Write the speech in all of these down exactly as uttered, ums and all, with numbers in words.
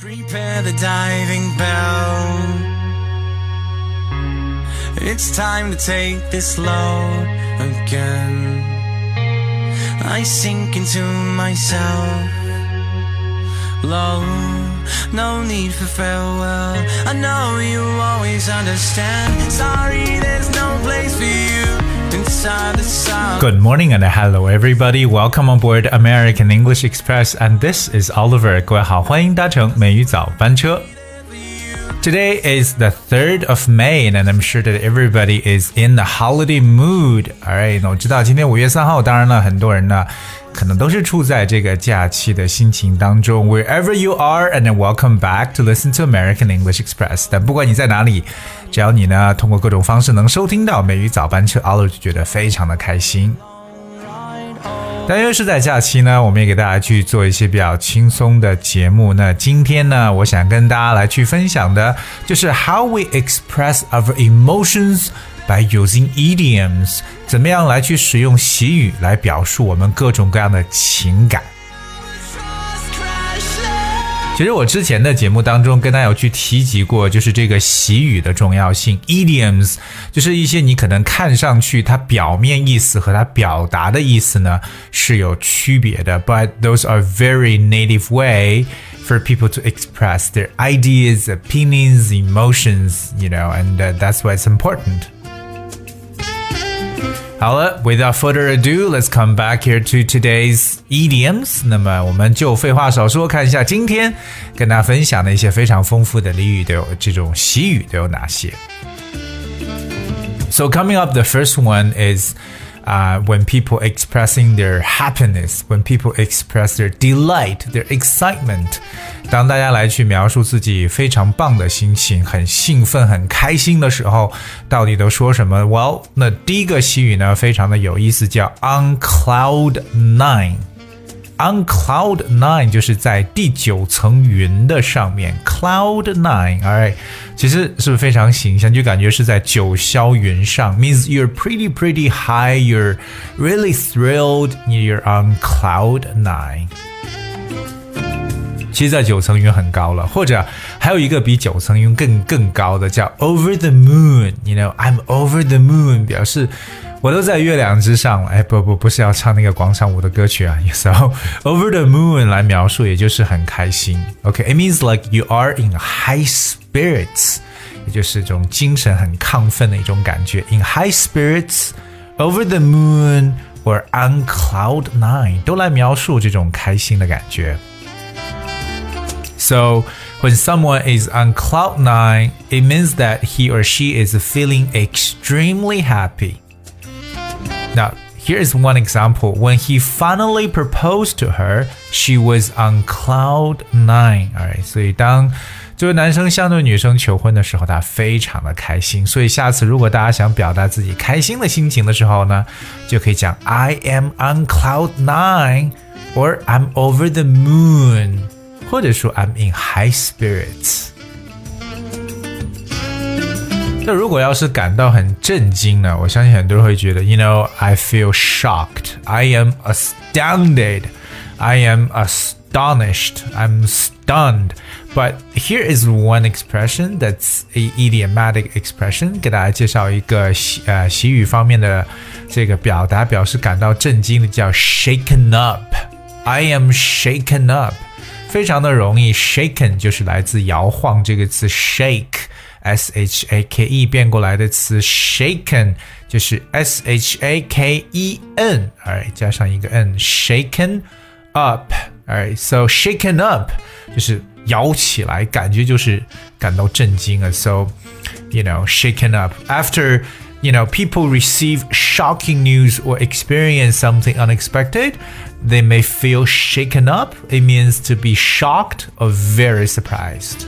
Prepare the diving bell. It's time to take this load again. I sink into myself. Low, no need for farewell. I know you always understand. Sorry, there's no place for you inside the sun. Good morning and hello everybody. Welcome on board American English Express, and this is Oliver. 各位好，欢迎搭乘美语早班车。Today is the third of May, and I'm sure that everybody is in the holiday mood. Alright, 那我知道今天五月三号，当然了，很多人呢可能都是处在这个假期的心情当中。Wherever you are, and then welcome back to listen to American English Express. 但不管你在哪里，只要你呢通过各种方式能收听到美语早班车 ，Oliver 就觉得非常的开心。但因为是在假期呢，我们也给大家去做一些比较轻松的节目。那今天呢，我想跟大家来去分享的就是 How we express our emotions by using idioms， 怎么样来去使用习语来表述我们各种各样的情感。其实我之前的节目当中跟大家有去提及过，就是这个习语的重要性。 Idioms 就是一些你可能看上去它表面意思和它表达的意思呢是有区别的， but those are very native way for people to express their ideas, opinions, emotions, you know, and uh, that's why it's important.好了 without further ado, let's come back here to today's idioms. 那么我们就废话少说，看一下今天跟大家分享的一些非常丰富的俚语都有这种习语都有哪些。So coming up, the first one is uh, when people expressing their happiness, when people express their delight, their excitement. 当大家来去描述自己非常棒的心情，很兴奋很开心的时候，到底都说什么？ Well, 那第一个习语呢非常的有意思，叫 on cloud nine. On cloud nine 就是在第九层云的上面， cloud nine, alright, 其实是不是非常形象，就感觉是在九霄云上， means you're pretty pretty high, you're really thrilled, you're on cloud nine. 其实在九层云很高了，或者还有一个比九层云更更高的叫 over the moon. You know, I'm over the moon 表示我都在月亮之上了。哎，不不不是要唱那个广场舞的歌曲啊。So over the moon 来描述，也就是很开心。Okay, it means like you are in high spirits， 也就是这种精神很亢奋的一种感觉。In high spirits, over the moon, or on cloud nine 都来描述这种开心的感觉。So when someone is on cloud nine, it means that he or she is feeling extremely happy. Now, here is one example. When he finally proposed to her, she was on cloud nine. Alright, 所以当这位男生向对女生求婚的时候，他非常的开心。所以下次如果大家想表达自己开心的心情的时候呢，就可以讲 I am on cloud nine, or I'm over the moon.或者说 I'm in high spirits。 那如果要是感到很震惊呢，我相信很多人会觉得 You know, I feel shocked, I am astounded, I am astonished, I'm stunned. But here is one expression that's a idiomatic expression. 给大家介绍一个呃习语方面的这个表达，表示感到震惊的叫 shaken up. I am shaken up.非常的容易 shaken 就是来自摇晃这个词 shake S H A K E 变过来的词 shaken 就是 S H A K E N alright 加上一个 N shaken up alright so shaken up 就是摇起来感觉就是感到震惊啊 so you know shaken up after you know, people receive shocking news or experience something unexpected, they may feel shaken up. It means to be shocked or very surprised.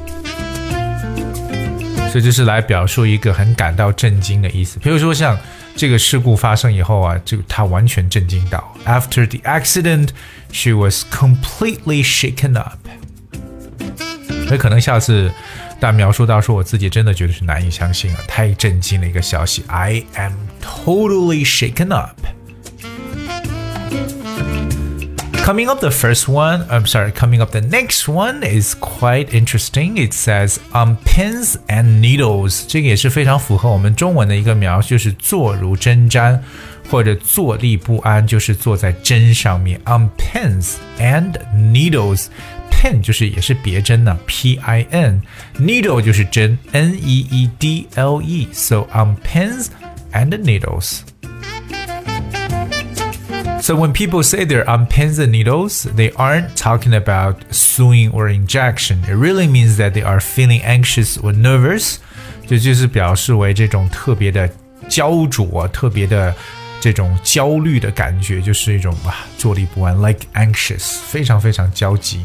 所以这是来表述一个很感到震惊的意思。比如说像这个事故发生以后啊，这个他完全震惊到。After the accident, she was completely shaken up. 所以可能下次但描述到说我自己真的觉得是难以相信啊，太震惊的一个消息 I am totally shaken up. Coming up the first one, I'm sorry, coming up the next one is quite interesting. It says on pins and needles. 这个也是非常符合我们中文的一个描述，就是坐如针毡，或者坐立不安，就是坐在针上面。On pins and needles. Pin 就是也是别针呢 P I N. Needle 就是针 N E E D L E. So on pins and needles.So when people say they're on pins and needles, they aren't talking about sewing or injection. It really means that they are feeling anxious or nervous. 这就是表示为这种特别的焦灼，特别的这种焦虑的感觉，就是一种啊坐立不安 ，like anxious， 非常非常焦急。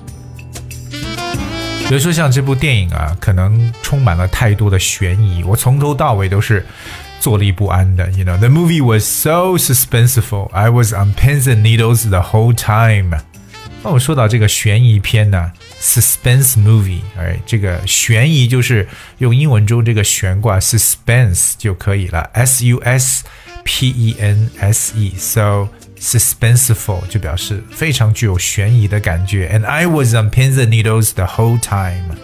比如说像这部电影啊，可能充满了太多的悬疑，我从头到尾都是坐立不安的 you know, the movie was so suspenseful. I was on pins and needles the whole time. 那我说到这个悬疑片呢 suspense movie, right? 这个悬疑就是用英文中这个悬挂 suspense 就可以了 S U S P E N S E. So suspenseful 就表示非常具有悬疑的感觉 And I was on pins and needles the whole time.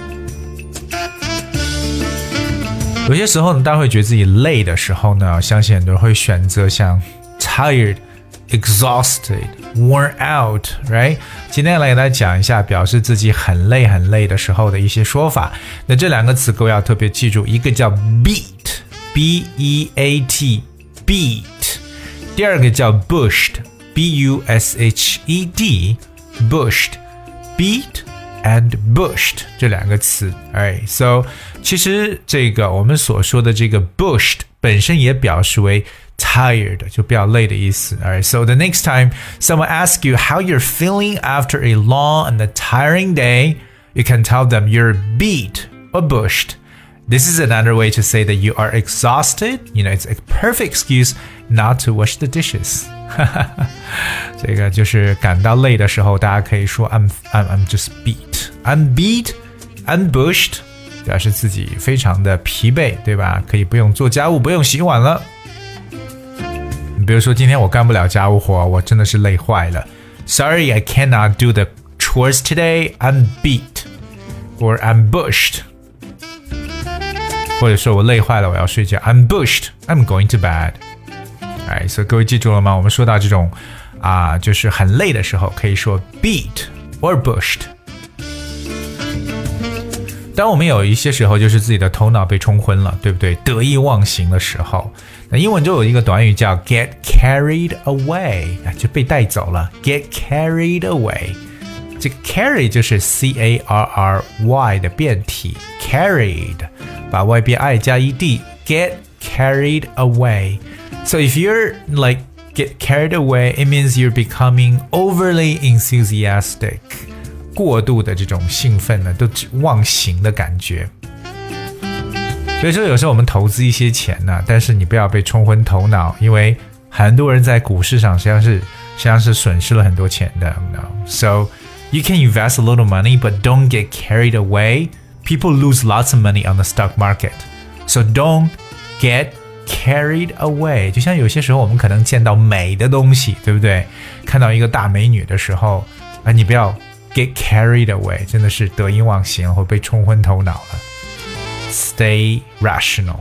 有些时候呢，大家会觉得自己累的时候呢，相信很多人会选择像 tired, exhausted, worn out, right? 今天来给大家讲一下表示自己很累很累的时候的一些说法。那这两个词各位要特别记住，一个叫 beat, B E A T, beat. 第二个叫 bushed, B U S H E D, bushed, beat.And bushed 这两个词 Alright, so 其实这个我们所说的这个 bushed 本身也表示为 tired 就比较累的意思 Alright, so the next time someone asks you how you're feeling after a long and a tiring day, you can tell them you're beat or bushed. This is another way to say that you are exhausted. You know, it's a perfect excuse not to wash the dishes. 这个就是感到累的时候，大家可以说 I'm I'm I'm just beat. I'm beat. I'm bushed. 表示自己非常的疲惫，对吧？可以不用做家务，不用洗碗了。你比如说今天我干不了家务活，我真的是累坏了。Sorry, I cannot do the chores today. I'm beat. Or I'm bushed.或者说我累坏了，我要睡觉 I'm bushed, I'm going to bed. Alright, so 各位记住了吗？我们说到这种啊，就是很累的时候，可以说 beat or bushed. 当我们有一些时候就是自己的头脑被冲昏了，对不对？得意忘形的时候，那英文就有一个短语叫 get carried away, 就被带走了 get carried away. 这个 carry 就是 C A R R Y 的变体 carried把 Y 变 I 加 ed get carried away. So if you're like get carried away, it means you're becoming overly enthusiastic. 过度的这种兴奋呢，都忘形的感觉。所以说有时候我们投资一些钱呢，但是你不要被冲昏头脑，因为很多人在股市上实际上是实际上是损失了很多钱的。No. So you can invest a little money, but don't get carried away. People lose lots of money on the stock market. So don't get carried away. 就像有些时候我们可能见到美的东西，对不对？看到一个大美女的时候，啊，你不要 get carried away， 真的是得意忘形或被冲昏头脑了。Stay rational.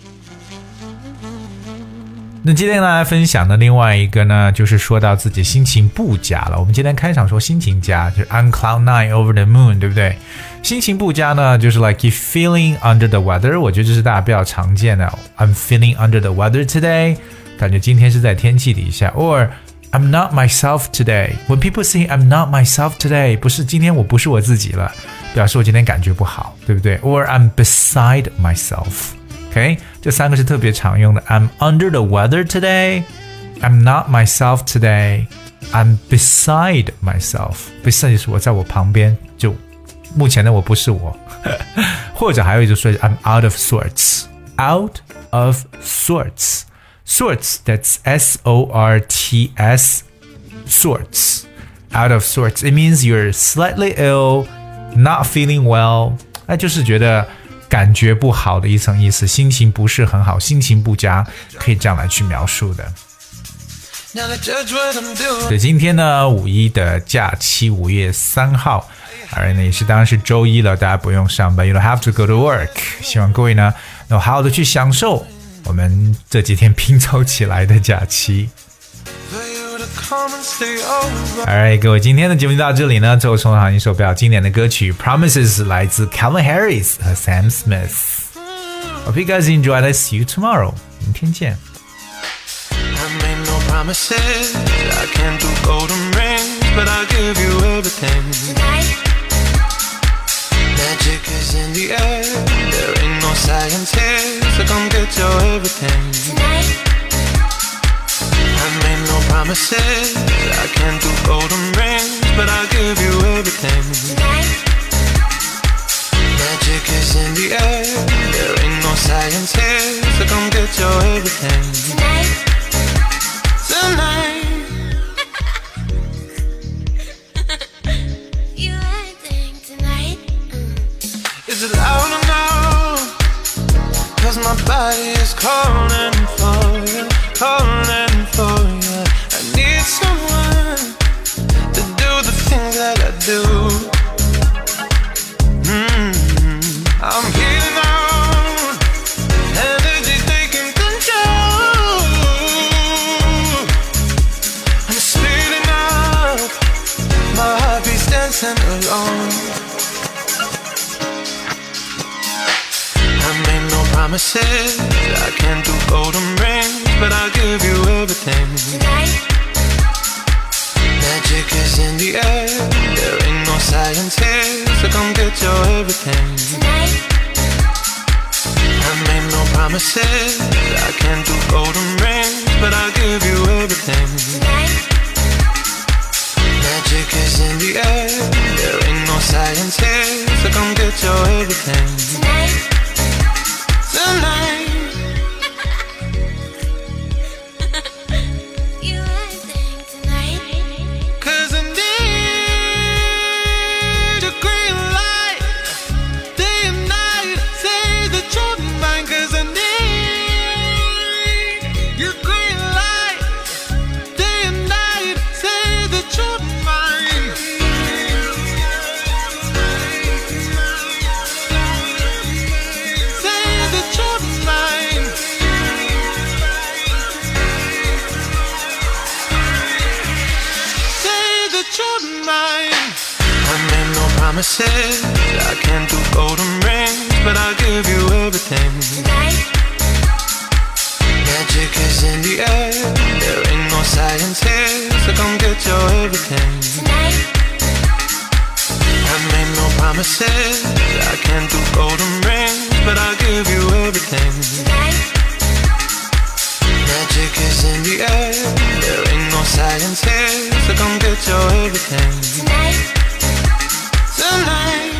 那今天跟大家分享的另外一个呢，就是说到自己心情不佳了。我们今天开场说心情佳，就是 on cloud nine over the moon， 对不对？心情不佳呢，就是 like you feeling under the weather， 我觉得这是大家比较常见的。I'm feeling under the weather today， 感觉今天是在天气底下。Or I'm not myself today. When people say I'm not myself today， 不是今天我不是我自己了，表示我今天感觉不好，对不对？ Or I'm beside myself。OK， 这三个是特别常用的。I'm under the weather today. I'm not myself today. I'm beside myself. Beside 就是我在我旁边，就目前的我不是我。或者还有一种说 I'm out of sorts. Out of sorts. Sorts, that's S O R T S. Sorts. Out of sorts. It means you're slightly ill, not feeling well. 那就是觉得感觉不好的一层意思，心情不是很好，心情不佳，可以这样来去描述的。 对，今天呢，五一的假期，五月三号，而呢也是当然是周一了，大家不用上班 ，You don't have to go to work。希望各位呢能好好的去享受我们这几天拼凑起来的假期。Alright， 各位，今天的节目就到这里呢。最后送上一首比较经典的歌曲《Promises》，来自 Calvin Harris 和 Sam Smith。Hope you guys enjoyed it. See you tomorrow. 明天见。 Promises, I can't do golden rings, but I'll give you everything. Tonight. Magic is in the air, there ain't no science here, so come get your everything. Tonight. I made no promises, I can't do golden rings, but I'll give you everything. Tonight. Magic is in the air, there ain't no science here, so come get your everything. Tonight.Tonight. You acting tonight. Is it loud enough? Cause my body is calling for you, calling for you. I need someone to do the things that I do. Mm-hmm. I'm healing out.And alone, I made no promises, I can't do golden rings, but I'll give you everything. Tonight. Magic is in the air, there ain't no science here, so come get your everything. Tonight. I made no promises, I can't do golden rings, but I'll give you everything. Tonight.Magic is in the air, there ain't no science here, so come get your everything. Tonight. Tonight. You acting tonight. Cause I need a green light, day and night, say that you're mine. Cause I need your green light, day and night, say that you're mine.Promises, I can't do golden rings, but I'll give you everything. Tonight. Magic is in the air, there ain't no science here, so come get your everything. Tonight. I made no promises, I can't do golden rings, but I'll give you everything. Tonight. Magic is in the air, there ain't no science here, so come get your everything. Tonight.Tonight